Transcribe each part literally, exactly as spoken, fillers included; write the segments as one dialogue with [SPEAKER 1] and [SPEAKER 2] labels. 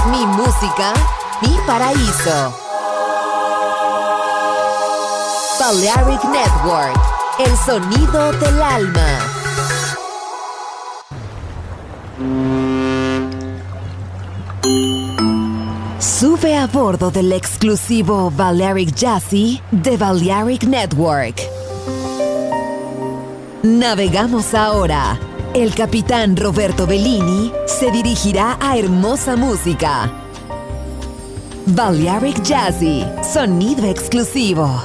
[SPEAKER 1] Mi música, mi paraíso. Balearic Network, el sonido del alma. Sube a bordo del exclusivo Balearic Jazzy de Balearic Network. Navegamos ahora. El capitán Roberto Bellini se dirigirá a hermosa música. Balearic Jazzy, sonido exclusivo.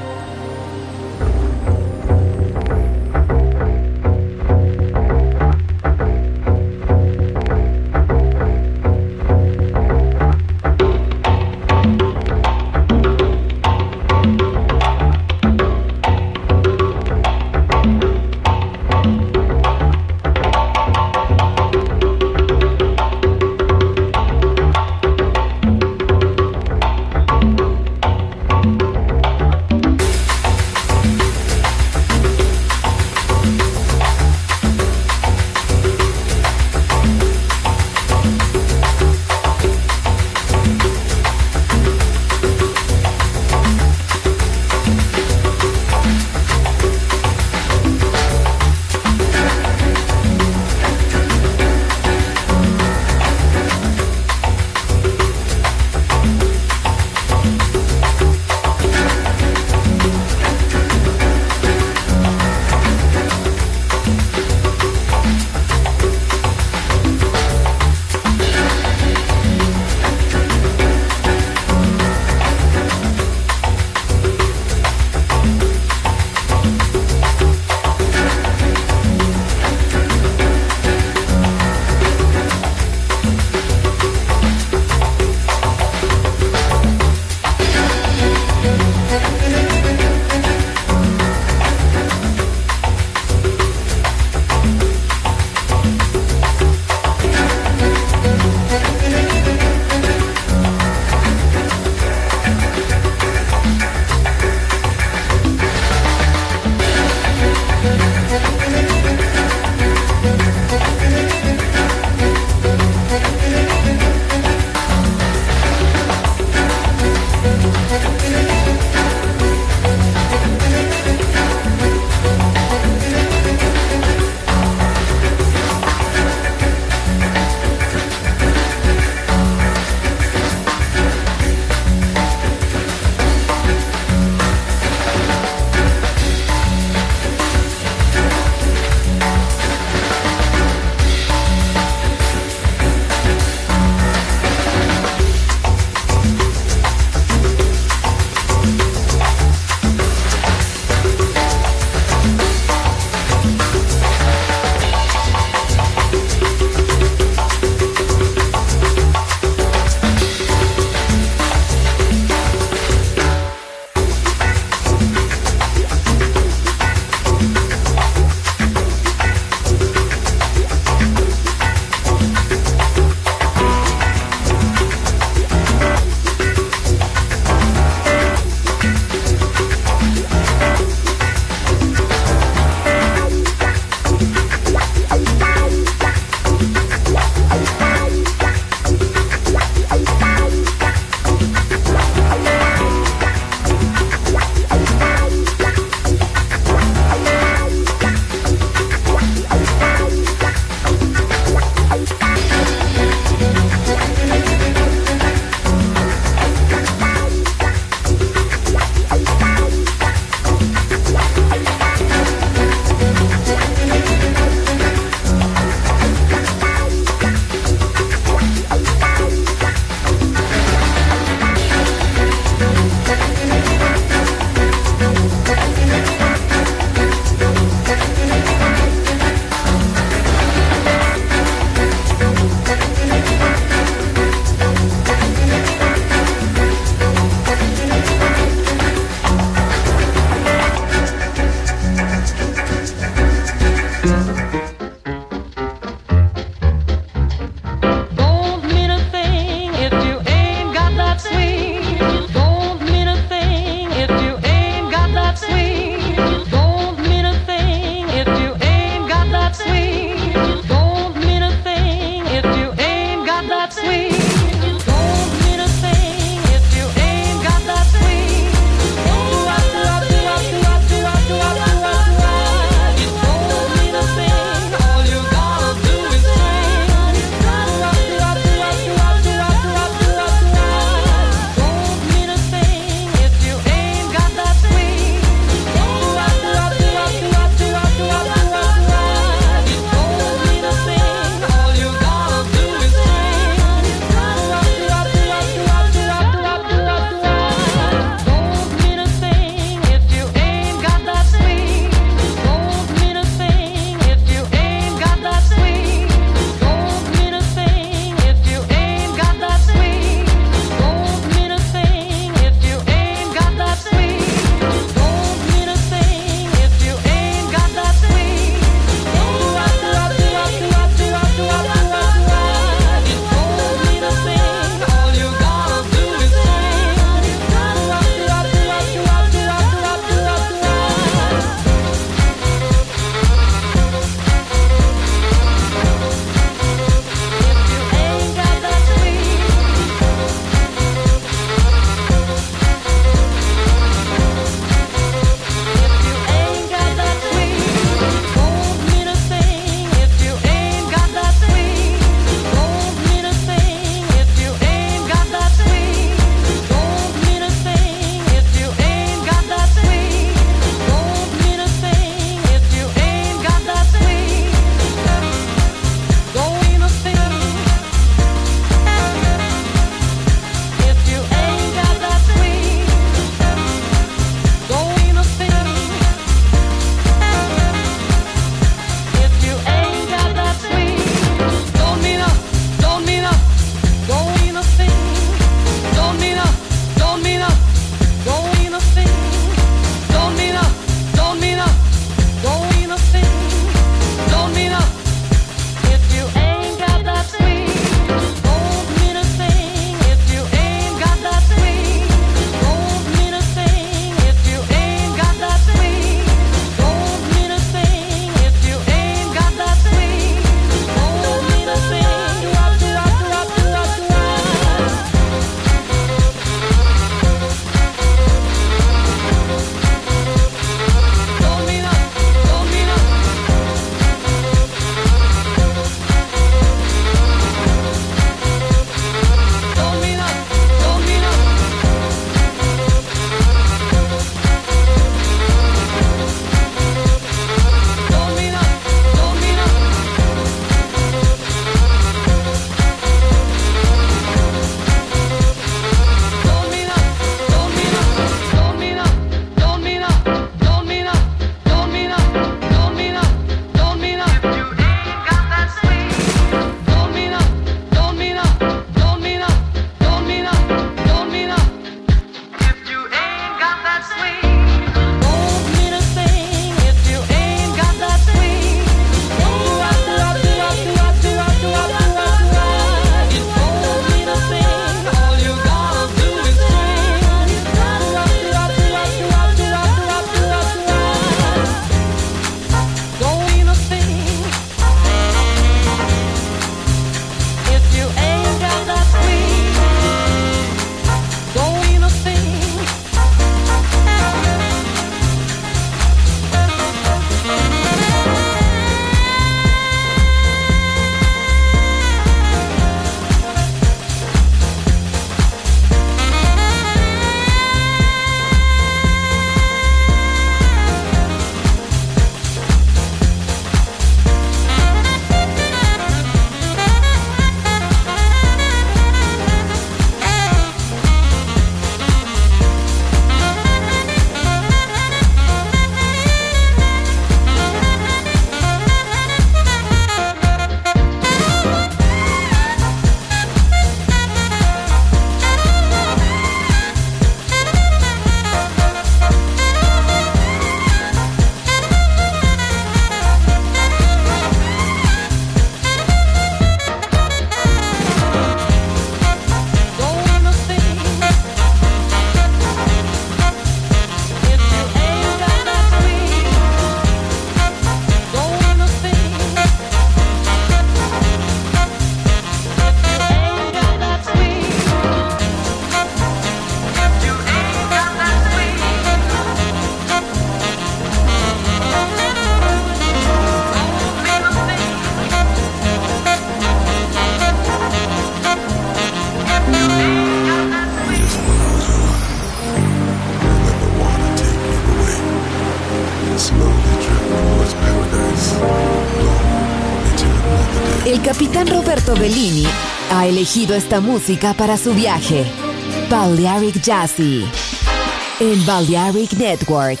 [SPEAKER 1] capitán Roberto Bellini ha elegido esta música para su viaje. Balearic Jazzy en Balearic Network.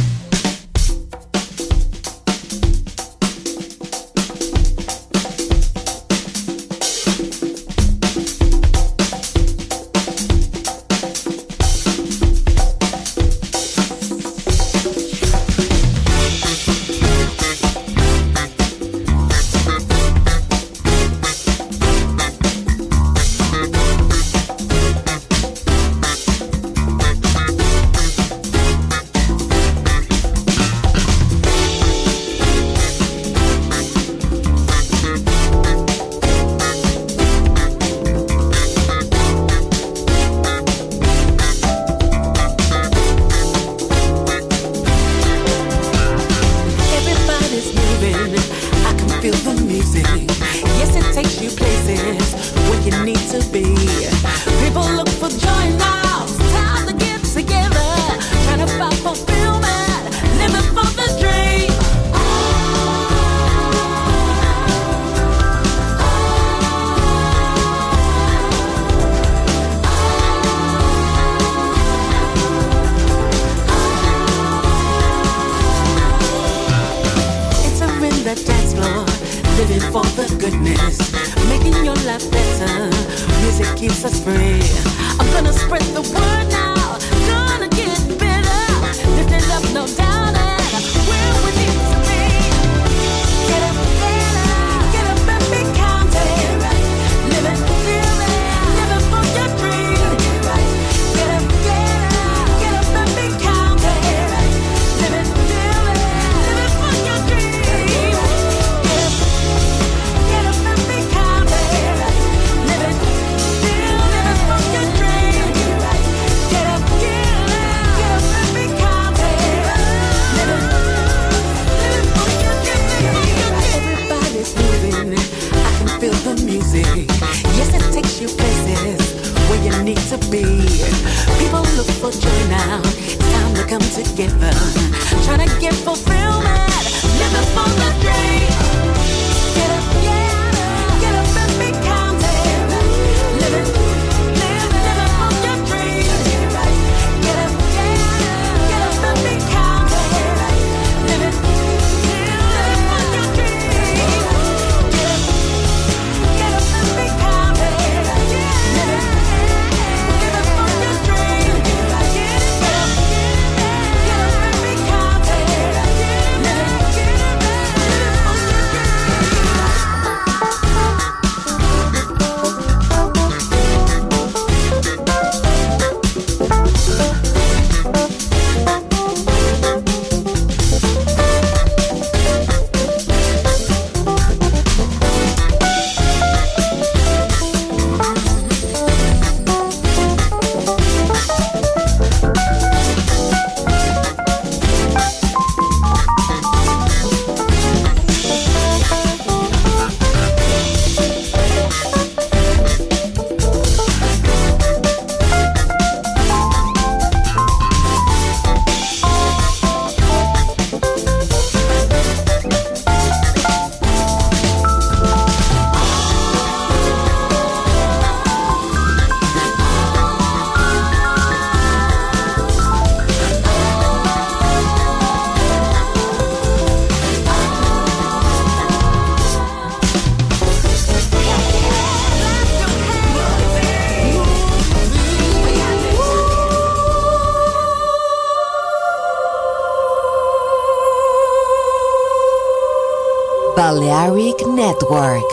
[SPEAKER 1] Balearic Network,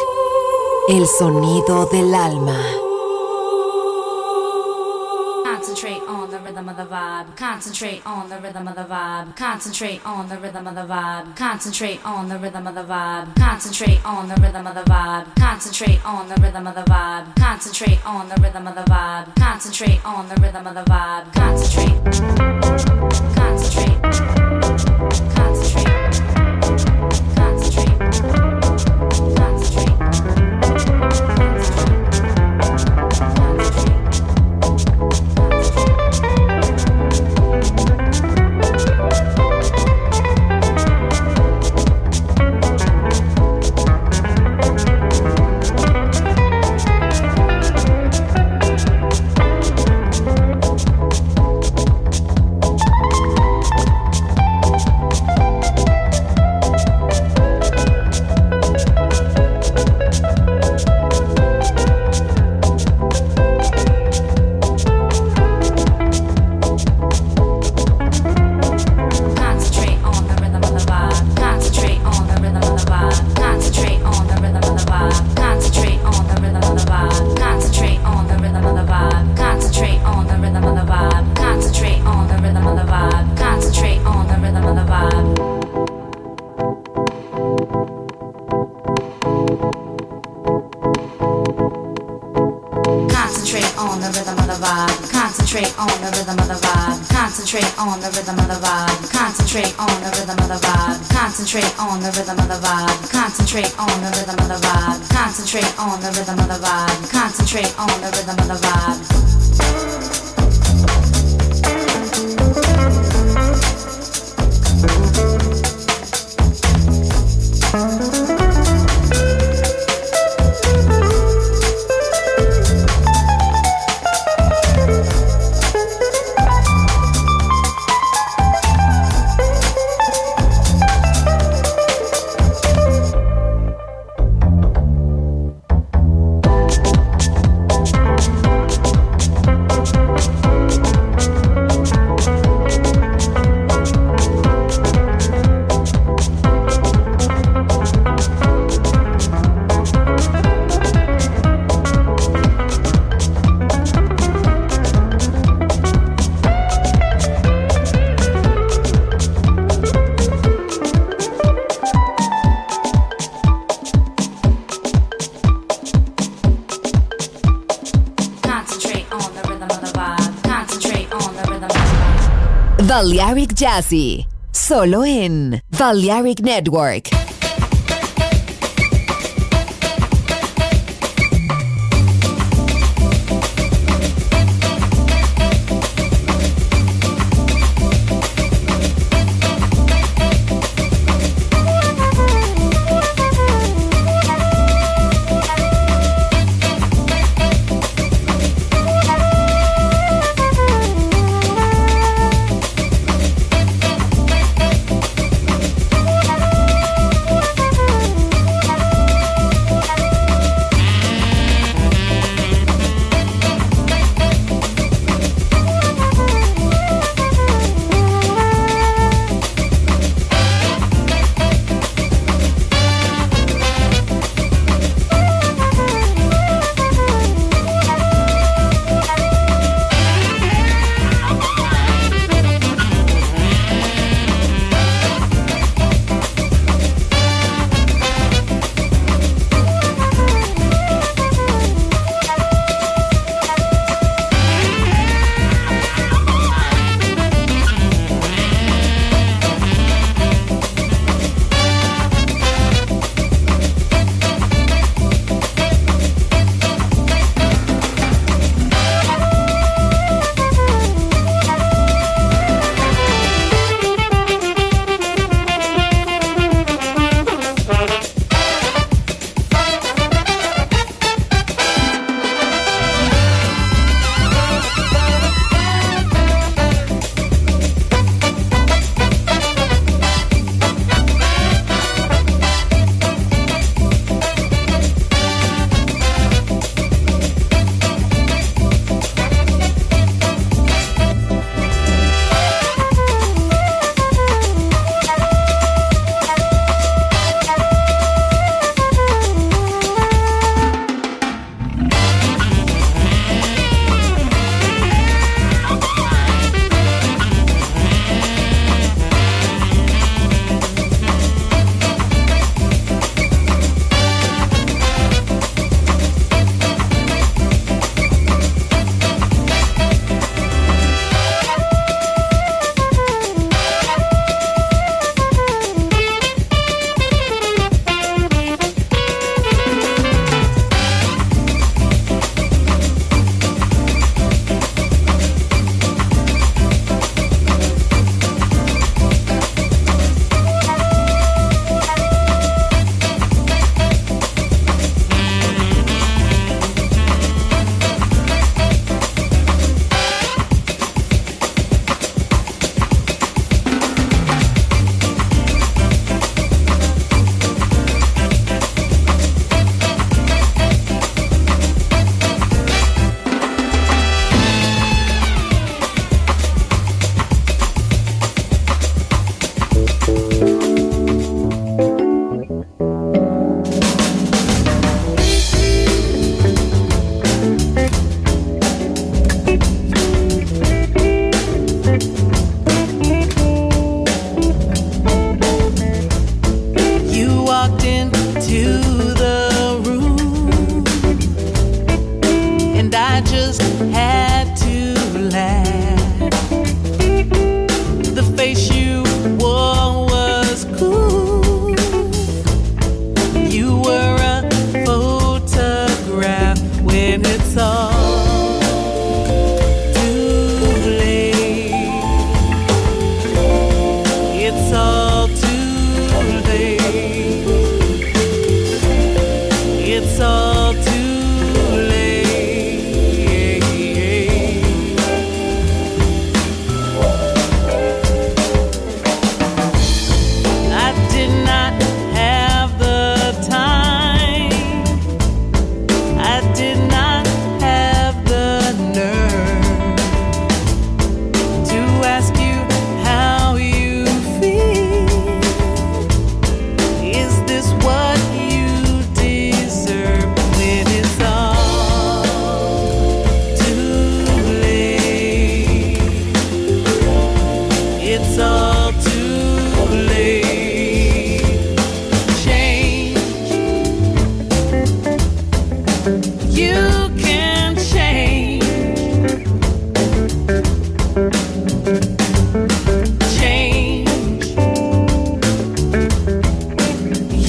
[SPEAKER 1] el sonido del alma.
[SPEAKER 2] Concentrate on the rhythm of the vibe. Concentrate on the rhythm of the vibe. Concentrate on the rhythm of the vibe. Concentrate on the rhythm of the vibe. Concentrate on the rhythm of the vibe. Concentrate on the rhythm of the vibe. Concentrate on the rhythm of the vibe. Concentrate on the rhythm of the vibe. Concentrate. Concentrate. Concentrate.
[SPEAKER 3] Concentrate.
[SPEAKER 2] vibe. Concentrate on the rhythm of the vibe. Concentrate on the rhythm of the vibe. Concentrate on the rhythm of the vibe. Concentrate on the rhythm of the vibe. Concentrate on the rhythm of the vibe. Concentrate on the rhythm of the vibe. Concentrate on the rhythm of the vibe.
[SPEAKER 1] Balearic Jazzy, solo en Balearic Network.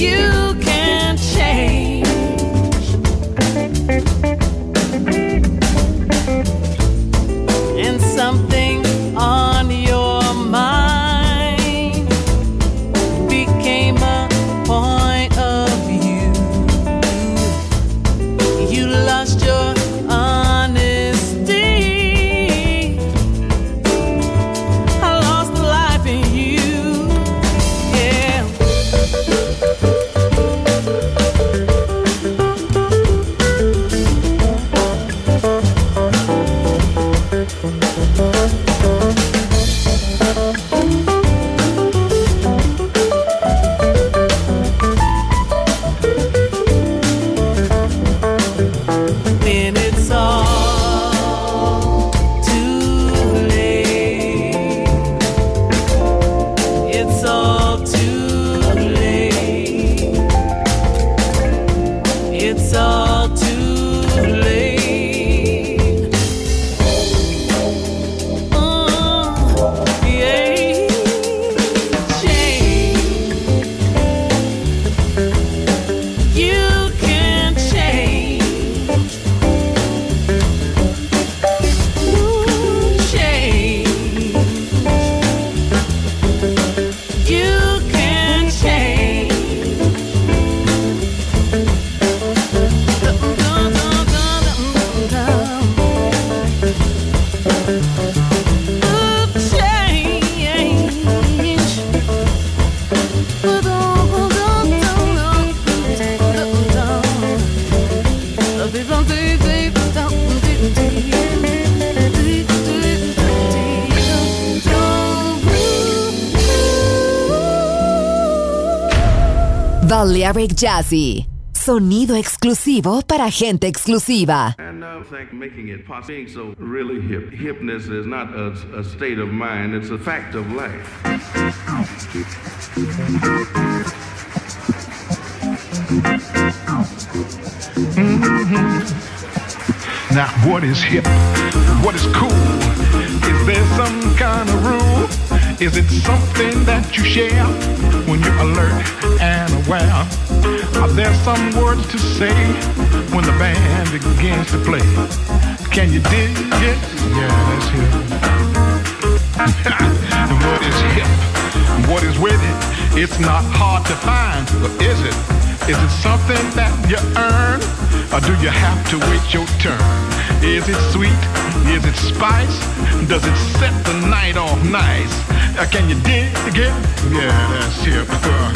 [SPEAKER 3] You can change. And something on your mind became a point of view. You lost your honesty. I lost the life in you. Yeah. When it's all too late, it's all too late, it's all too late. Mm, yeah, change. You can change. Change. You can change. Dum, dum, dum, dum, dum, dum. Ooh, change. Dum, dum, dum, dum, dum, dum.
[SPEAKER 1] Balearic Jazzy. Sonido exclusivo para gente exclusiva.
[SPEAKER 4] And I think making it possible, being so really hip. Hipness is not a, a state of mind, it's a fact of life.
[SPEAKER 5] Now, what is hip? What is cool? Is there some kind of rule? Is it something that you share when you're alert and aware? Are there some words to say when the band begins to play? Can you dig it? Yeah, that's hip. What is hip? What is with it? It's not hard to find, but is it? Is it something that you earn, or do you have to wait your turn? Is it sweet? Is it spice? Does it set the night off nice? Uh, can you dig it? Yeah, that's hip. Uh.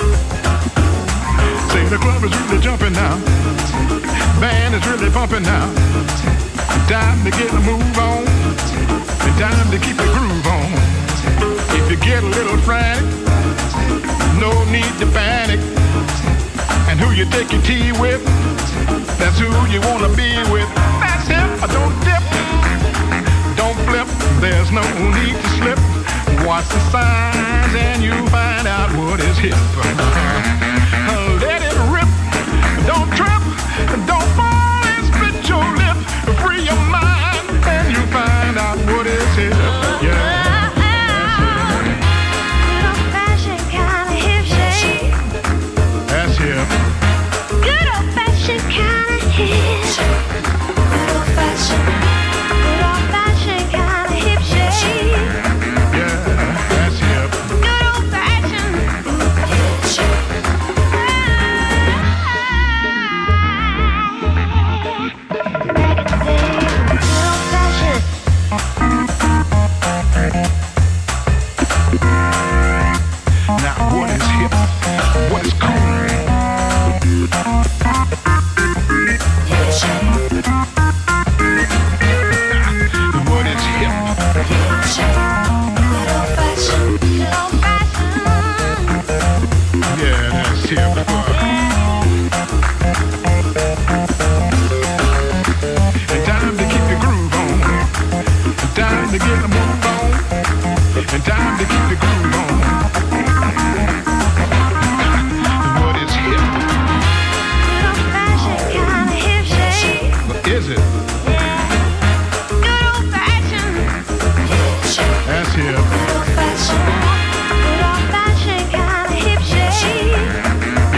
[SPEAKER 5] Say the club is really jumping now. Band is really bumping now. Time to get a move on. Time to keep the groove on. If you get a little frantic, no need to panic. And who you take your tea with, that's who you wanna be with. That's him. Don't dip, don't flip. There's no need to slip. Watch the signs and you find out what is hip. Let it rip. Don't trip. Don't fall and split your lip. Free your mind and you find out what is hip. Yeah. That's hip.
[SPEAKER 6] Good old fashioned kind of hip. Good old fashioned, good old fashioned kind of hip shake.
[SPEAKER 5] Yeah, that's hip.
[SPEAKER 6] Good old fashioned hip shake. Back in the day, good old fashioned.
[SPEAKER 5] Now what is hip? What is cool?
[SPEAKER 6] Hip shake.
[SPEAKER 5] What is hip?
[SPEAKER 6] Hip shake. Good old fashioned, good old fashioned.
[SPEAKER 5] Yeah, that's hip. And time to keep the groove on. And time to get the move on. And time to keep the groove on. What is hip?
[SPEAKER 6] Good old fashioned kind of hip shake.
[SPEAKER 5] What is it?
[SPEAKER 6] Good old fashioned hip shake.
[SPEAKER 5] That's hip.
[SPEAKER 6] Good old fashioned, good old fashioned kind of hip shake.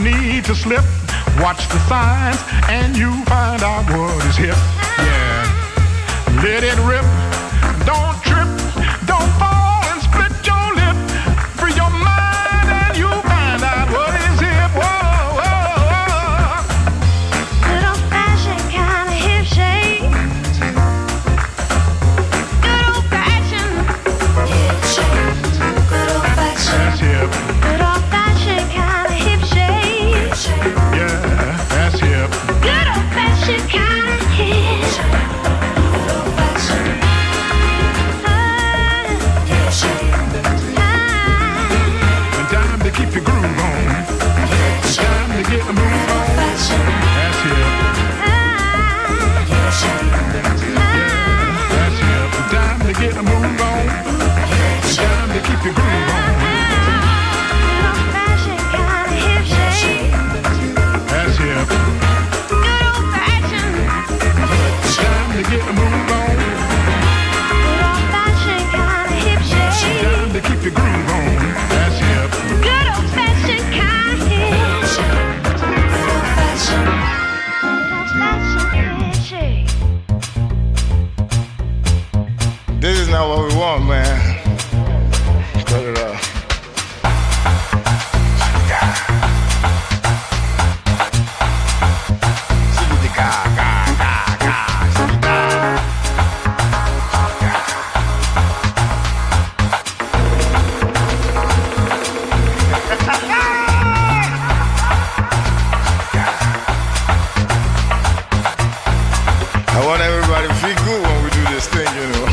[SPEAKER 5] need to slip. Watch the signs and you find out what is hip. Yeah, let it rip. Don't trip, don't fall and split your lip. Free your mind and you find out what is hip. Whoa, whoa, whoa.
[SPEAKER 6] Good old-fashioned kind of hip shake. Good old-fashioned hip shake. Good old-fashioned.
[SPEAKER 5] That's hip.
[SPEAKER 6] Good old-fashioned kind of hip shake.
[SPEAKER 5] Yeah, that's hip.
[SPEAKER 6] Good old-fashioned kind of hip shake. Good old-fashioned.
[SPEAKER 5] And time to keep your groove on. It's time to get the move on. That's hip. Yeah, that's hip. It's time to get the move on. It's time to keep your groove on. That's hip. It's time to get the move on. It's time to keep your groove on. That's hip.
[SPEAKER 6] Good old-fashioned kind of hip shake. Good old-fashioned. Good old-fashioned hip shake.
[SPEAKER 7] This is not what we want, man. Cut it off. I want everybody to feel good when we do this thing, you know.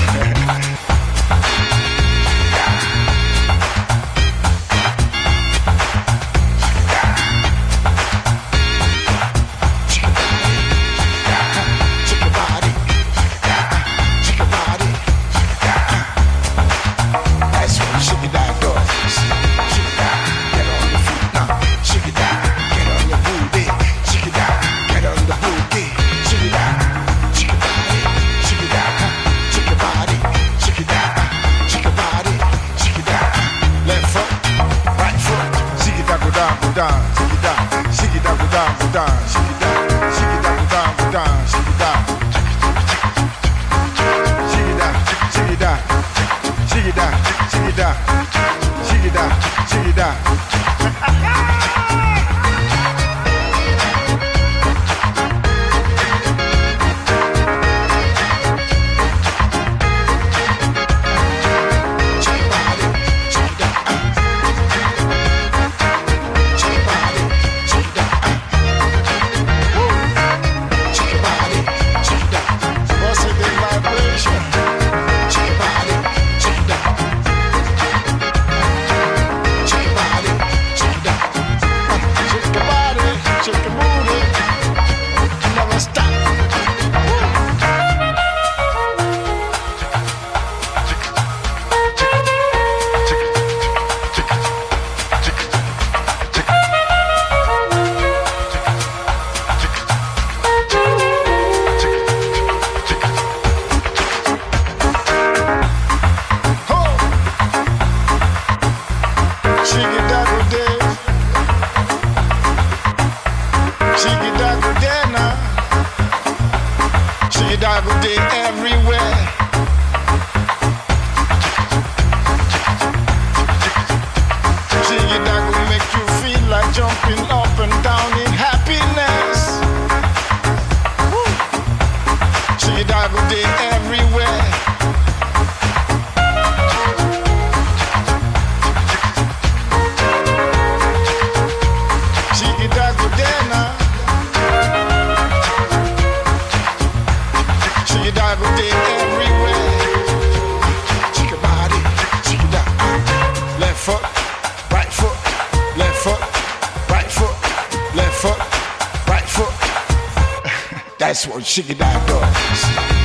[SPEAKER 7] That's what Shiggy Dog does.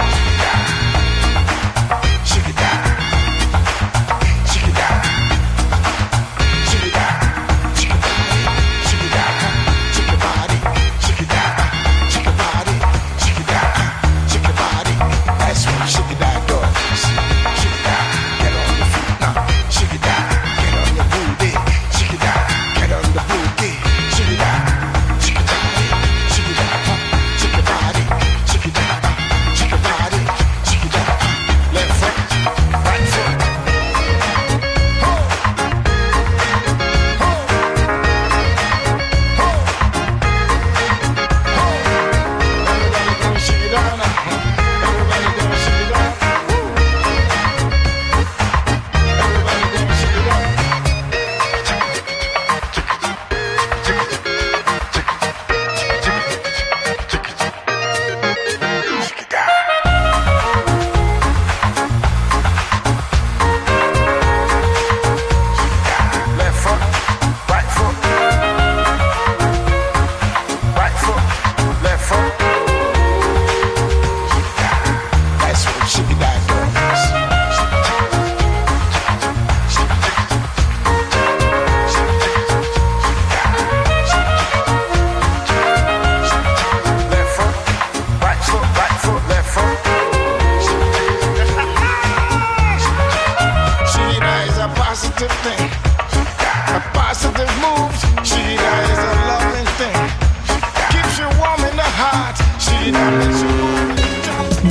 [SPEAKER 7] Shiggy Dog. Shiggy Dog. Shiggy Dog. Shiggy body. Shiggy Dog. Shiggy body. Shiggy Dog. Shiggy body. Shiggy Dog. Shiggy body. That's what Shiggy Dog does. Shiggy Dog. Get on your feet now. Shiggy Dog. Get on your booty. Shiggy Dog. Get on the booty. Shiggy Dog.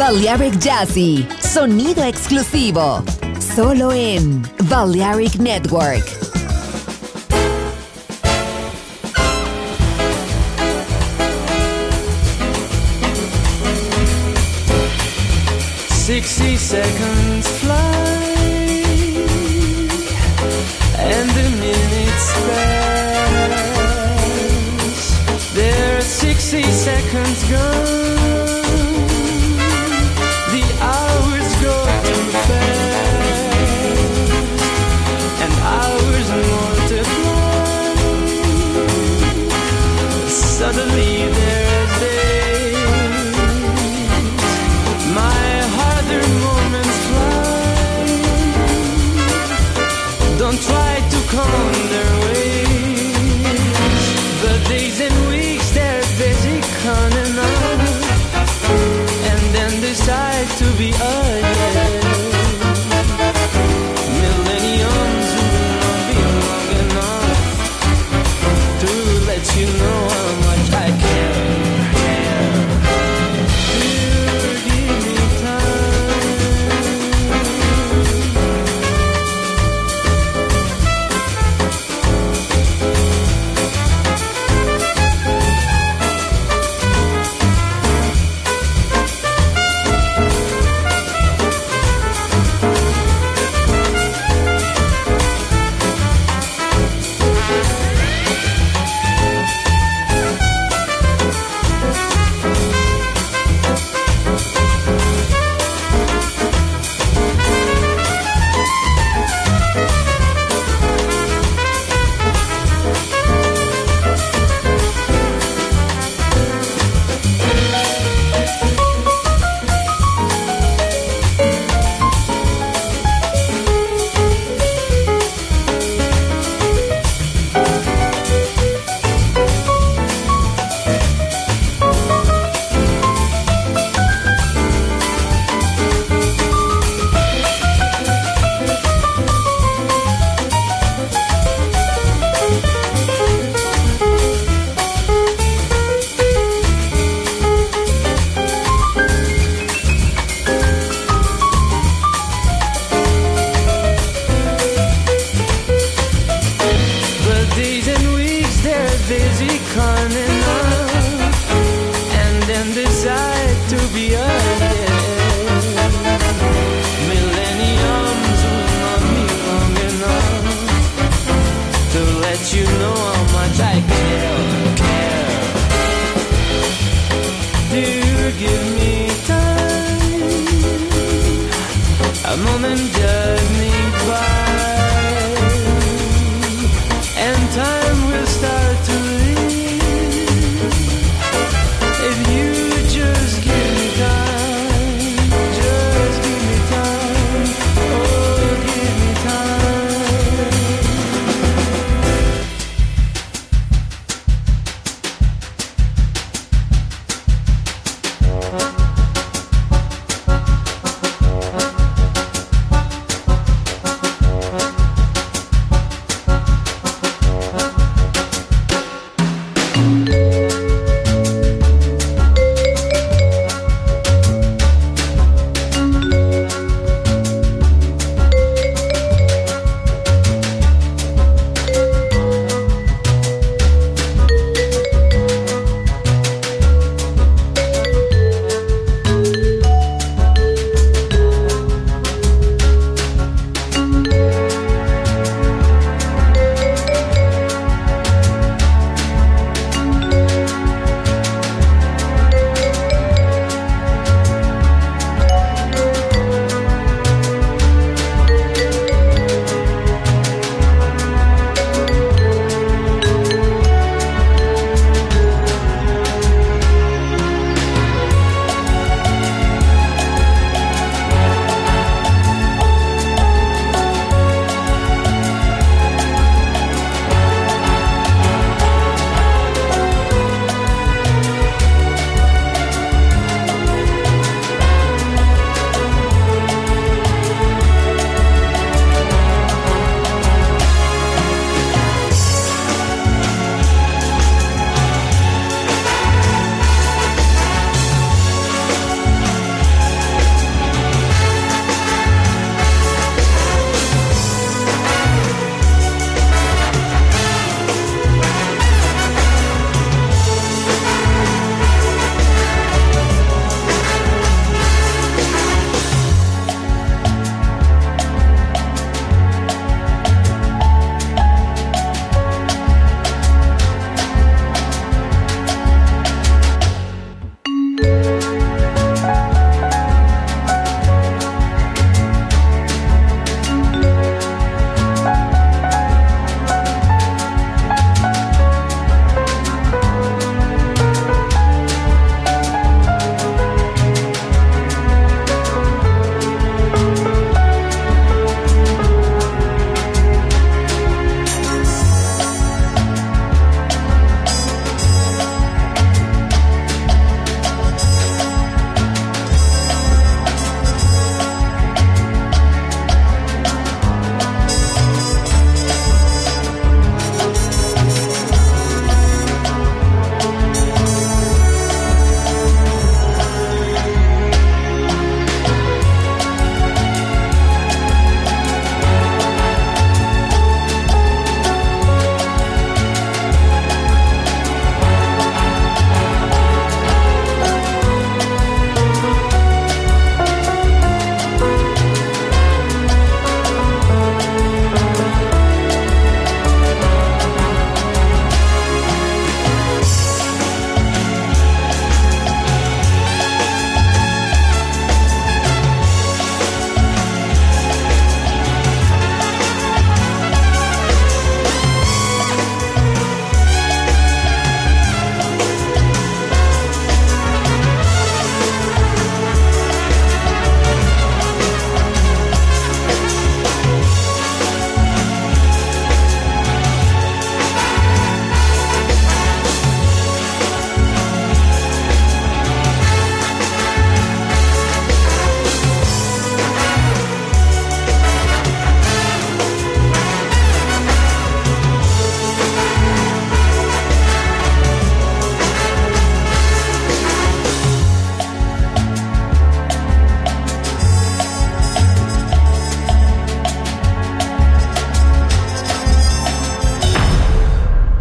[SPEAKER 1] Balearic Jazzy, sonido exclusivo, solo en Balearic Network.
[SPEAKER 3] Sixty seconds fly, and the minutes pass. There are sixty seconds gone. The hours go too fast, and hours multiply. Suddenly there's days. My harder moments fly. Don't try to count their ways. The days and weeks they're busy counting on.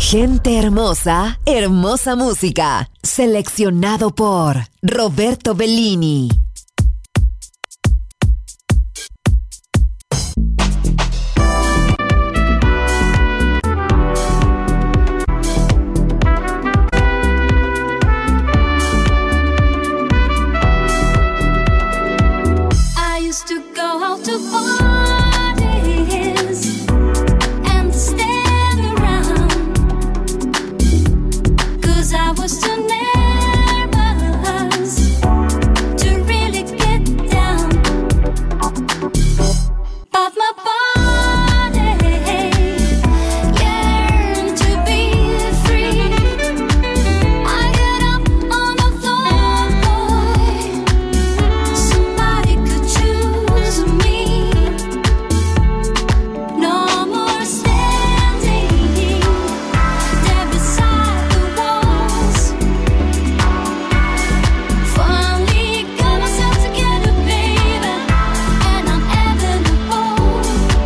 [SPEAKER 1] Gente hermosa, hermosa música. Seleccionado por Roberto Bellini.
[SPEAKER 6] I used to go out to parties and stand around, 'cause I was too nervous to really get down. But my body yearned to be free. I got up on the floor, boy. Somebody could choose me. No more standing there beside the walls. Finally got myself together, baby, and I'm having a ball.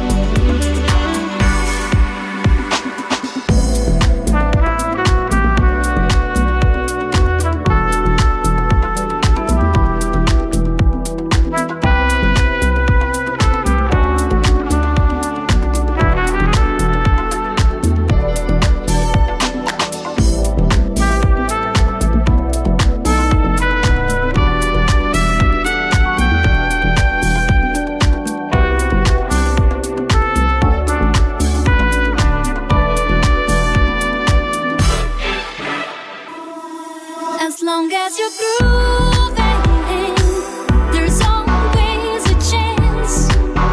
[SPEAKER 6] As long as you're grooving, there's always a chance.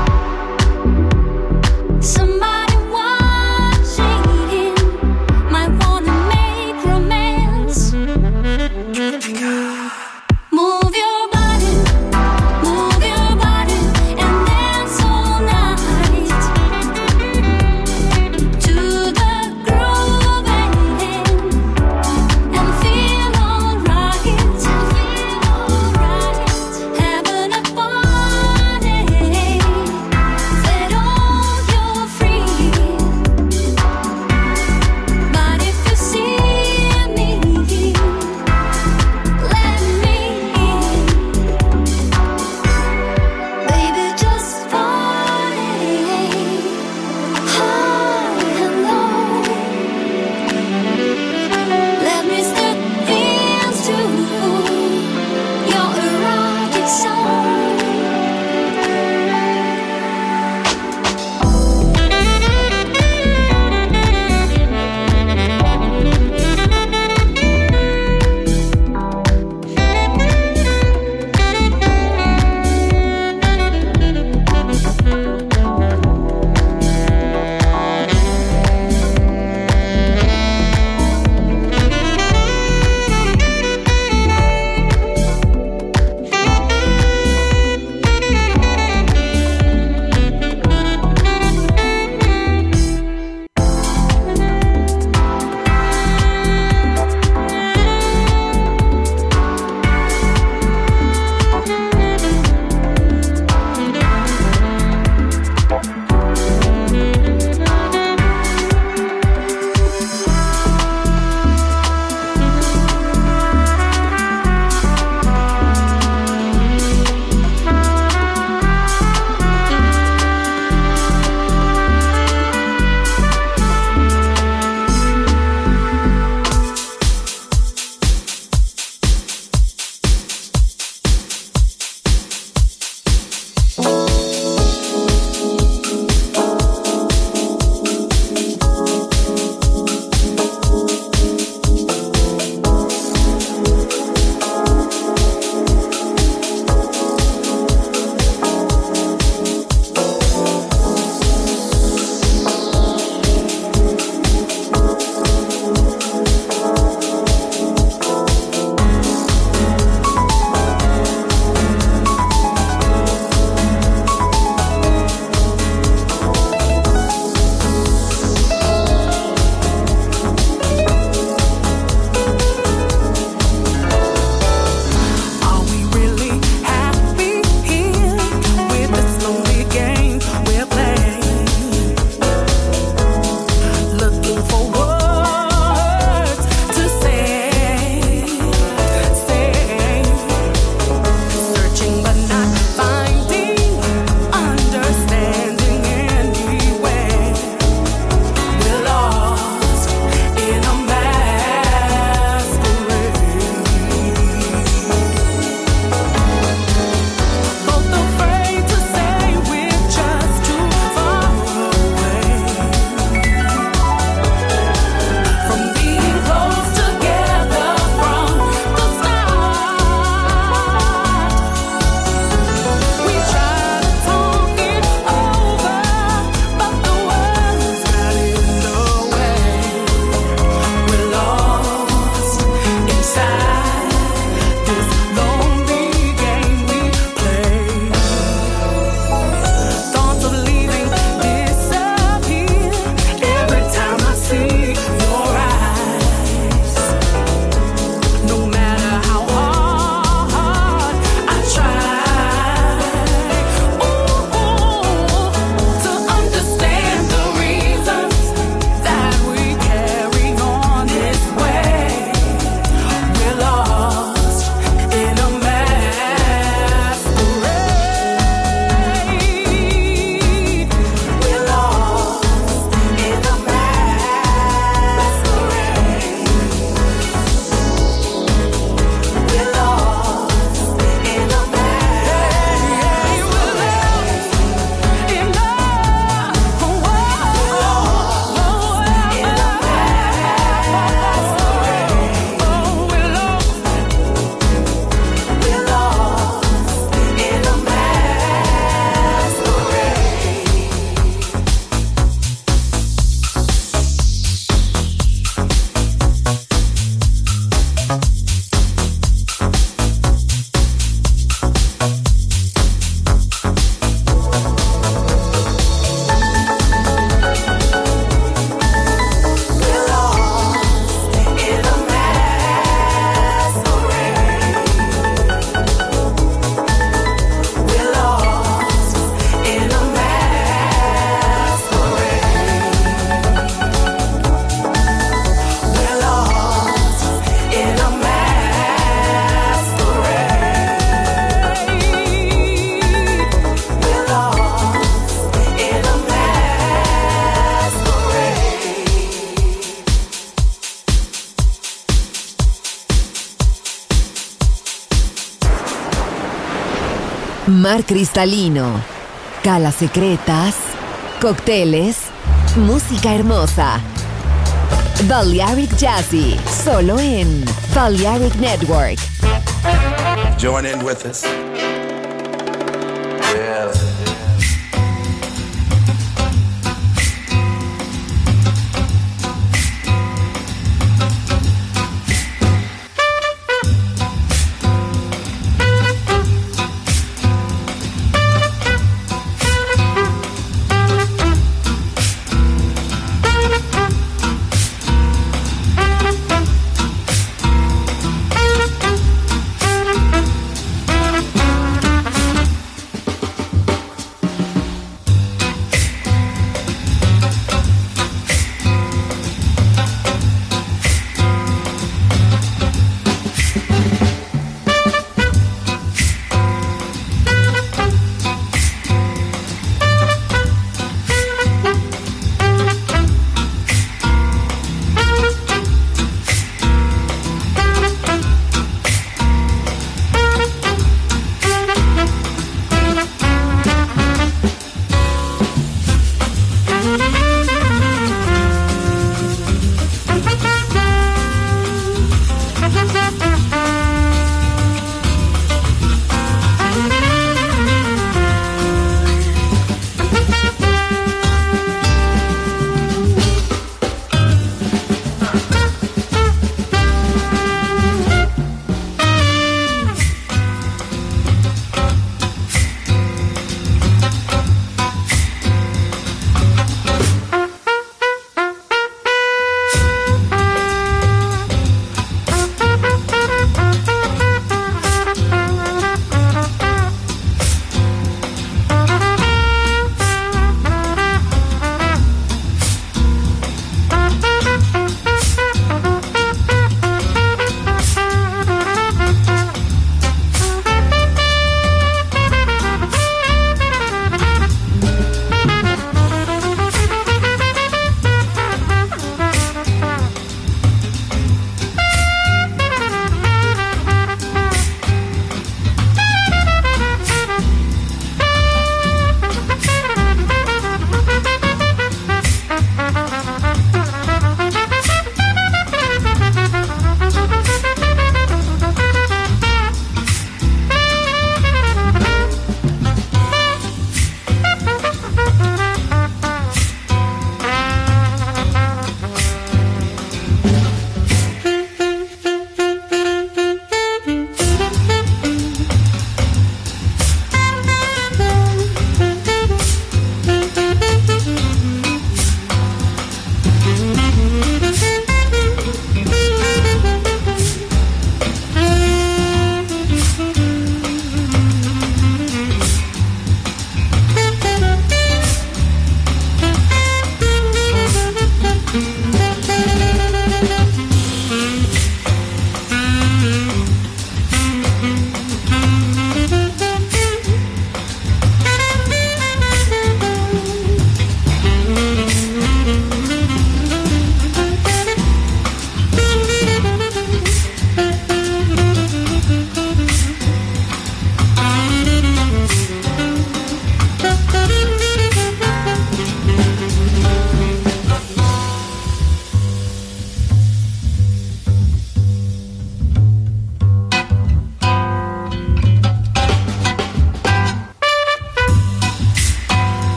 [SPEAKER 6] Somebody watching might wanna make romance. Move your body, move your body, and dance all night to the grooving and feel alright.
[SPEAKER 1] Mar cristalino, calas secretas, cócteles, música hermosa. Balearic Jazzy, solo en Balearic Network.
[SPEAKER 8] Join in with us. Yeah.